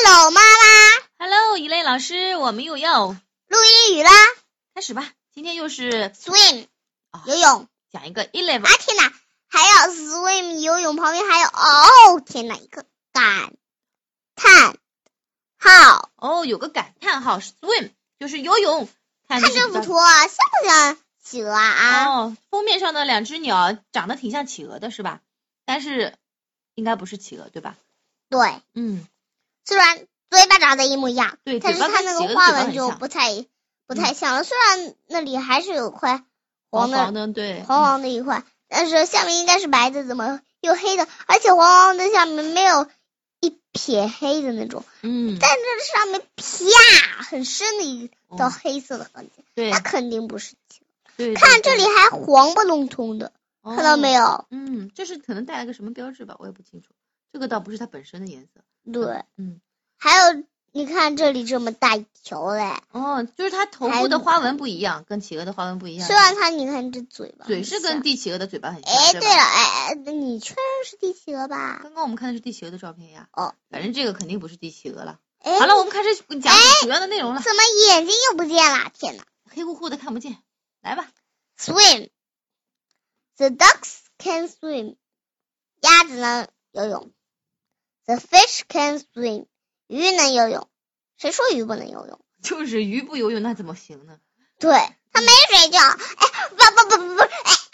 Hello， 妈妈。 Hello， 一类老师，我们又要录英语啦。 开始吧。今天又是 swim，游泳。 讲一个 11。 啊天哪，还要 swim 游泳，旁边还有哦天哪，一个感叹号。 哦，有个感叹号 ，swim 就是游泳。看这幅图啊，像不像企鹅啊？ 哦，封面上的两只鸟长得挺像企鹅的是吧？但是应该不是企鹅对吧？ 对，虽然嘴巴长得一模一样， 对， 但是它那个花纹就不太像了。虽然那里还是有块黄的， 对， 黄黄的一块，但是下面应该是白的，怎么又黑的？而且黄黄的下面没有一撇黑的那种，但这上面啪很深的一道黑色的痕迹， 对， 那肯定不是企鹅。 对， 看这里还黄不隆咚的，看到没有？ 这是可能带了个什么标志吧，我也不清楚。这个倒不是它本身的颜色。 对，还有你看这里这么大一条嘞。 哦，就是它头部的花纹不一样，跟企鹅的花纹不一样。 虽然它你看这嘴巴， 嘴是跟帝企鹅的嘴巴很像。 哎，对了，你确认是帝企鹅吧？ 刚刚我们看的是帝企鹅的照片呀。 哦， 反正这个肯定不是帝企鹅了。好了，我们开始讲主要的内容了。 怎么眼睛又不见了？天哪， 黑乎乎的看不见。来吧。 Swim. The ducks can swim. 鸭子能游泳。The fish can swim. 鱼能游泳。谁说鱼不能游泳？ 就是鱼不游泳那怎么行呢？ 对，它没水就不，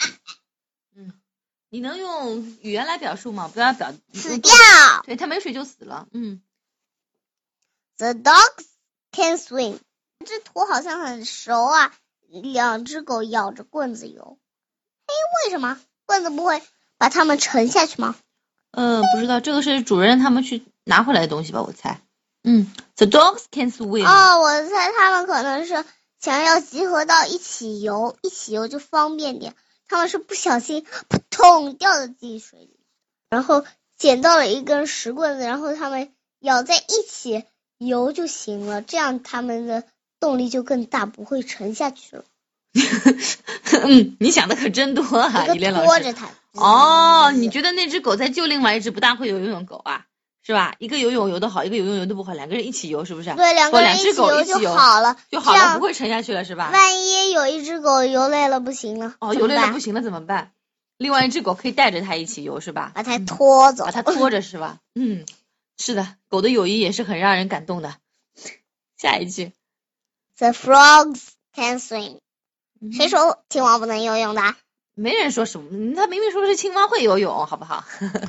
你能用语言来表述吗？不要死掉。 对，它没水就死了。 The dogs can swim. 这图好像很熟啊，两只狗咬着棍子游。为什么棍子不会把它们沉下去吗？ 不知道，这个是主人他们去拿回来的东西吧，我猜。The dogs can swim. 我猜他们可能是想要集合到一起游就方便点。他们是不小心扑通掉到进水里，然后捡到了一根石棍子，然后他们咬在一起游就行了，这样他们的动力就更大，不会沉下去了。 你想的可真多啊，一连老师。 拖着它。 你觉得那只狗在救另外一只不大会游泳的狗啊？是吧？一个游泳游得好，一个游泳游得不好，两个人一起游，是不是？ 对，两只狗一起游就好了， 不会沉下去了，是吧？ 万一有一只狗游累了不行了， 游累了不行了怎么办？另外一只狗可以带着它一起游，是吧？ 把它拖走， 把它拖着，是吧？是的，狗的友谊也是很让人感动的。下一句 ，The frogs can swim。谁说青蛙不能游泳的？ 没人说什么，他明明说是青蛙会游泳，好不好？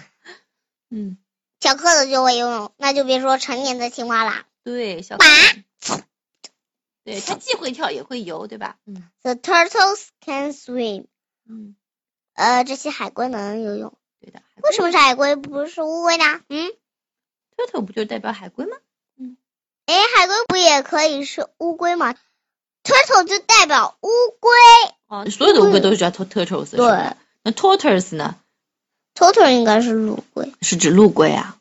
小蝌蚪就会游泳，那就别说成年的青蛙啦。 对，小蝌蚪，对，它既会跳也会游，对吧 ？The turtles can swim。这些海龟能游泳。 对的。 为什么是海龟，不是乌龟呢 ？turtle 不就代表海龟吗？ 海龟不也可以是乌龟吗？turtle 就代表乌龟。 所有的乌龟都是叫 turtles。 对。 那 tortoise 呢 ？tortoise 应该是陆龟。 是指陆龟啊。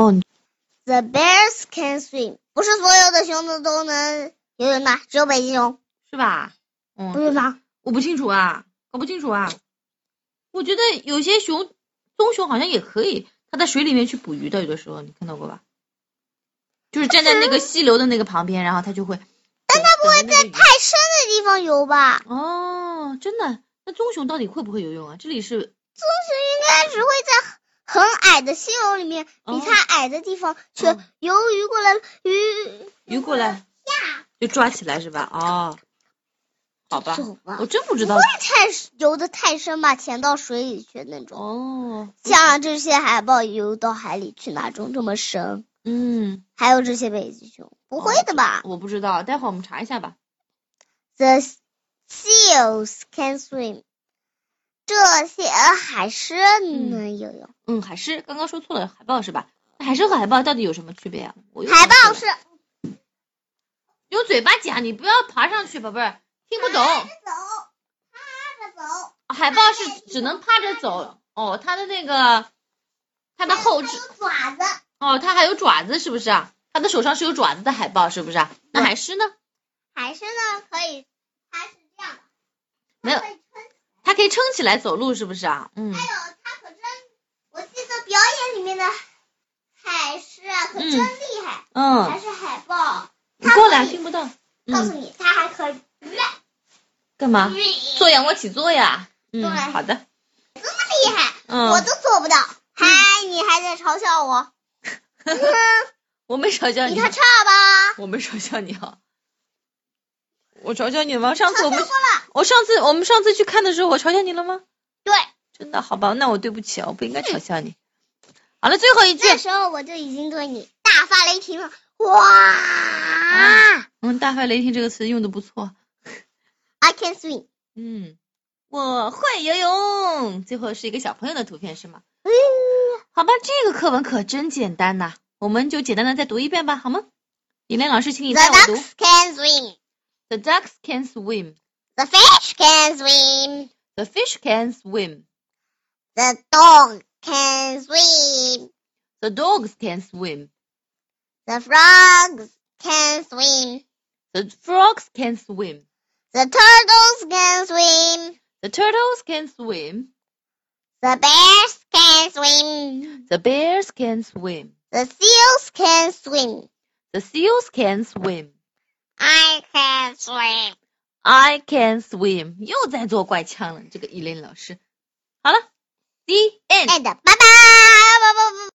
The bears can swim。不是所有的熊都能游泳的，只有北极熊。 是吧？ 不是吗？ 我不清楚啊，搞不清楚啊。我觉得有些棕熊好像也可以，它在水里面去捕鱼的，有的时候你看到过吧？就是站在那个溪流的那个旁边，然后它就会。 但它不会在太深的地方游吧？ 真的？那棕熊到底会不会游泳啊？这里是。 棕熊应该只会在很矮的溪流里面，比它矮的地方去游鱼过来， 鱼过来就抓起来是吧？好吧，我真不知道。 不会游得太深吧？潜到水里去那种。像这些海豹游到海里去哪种这么深？还有这些北极熊，不会的吧？ 我不知道，待会儿我们查一下吧。 The seals can swim。这些海狮能游泳。 海狮刚刚说错了，海豹是吧？海狮和海豹到底有什么区别啊？ 海豹是用嘴巴讲，你不要爬上去，宝贝儿，听不懂。 趴着走。 海豹是只能趴着走。它的那个，它的后肢有爪子。 它还有爪子，是不是啊？它的手上是有爪子的海豹，是不是啊？那海狮呢？ 海狮呢，可以，它是这样的， 没有。它可以撑起来走路，是不是啊？ 还有它可真，我记得表演里面的海狮啊，可真厉害。 还是海豹。 你过来，听不到。 告诉你，它还可以。 干嘛？做仰卧起坐呀。 对， 好的。 这么厉害，我都做不到。嗨，你还在嘲笑我？ 我没嘲笑你。 你看差吧？ 我没嘲笑你啊。我嘲笑你吗？我们上次去看的时候，我嘲笑你了吗？ 对。 真的，好吧，那我对不起啊，我不应该嘲笑你。好了，最后一句。 那时候我就已经对你大发雷霆了。哇！ 大发雷霆这个词用的不错。 I can swim。 我会游泳。最后是一个小朋友的图片是吗？好吧，这个课文可真简单呐，我们就简单的再读一遍吧，好吗？李莲老师，请你带我读。 The ducks can swim. The ducks can swim. The fish can swim. The fish can swim. The dog can swim. The dogs can swim. The frogs can swim. The frogs can swim. The turtles can swim. The turtles can swim. The bears can swim. The bears can swim. The seals can swim. The seals can swim. I can swim. I can swim. 又在做怪腔了，这个依琳老师。好了 ，The end. 拜拜。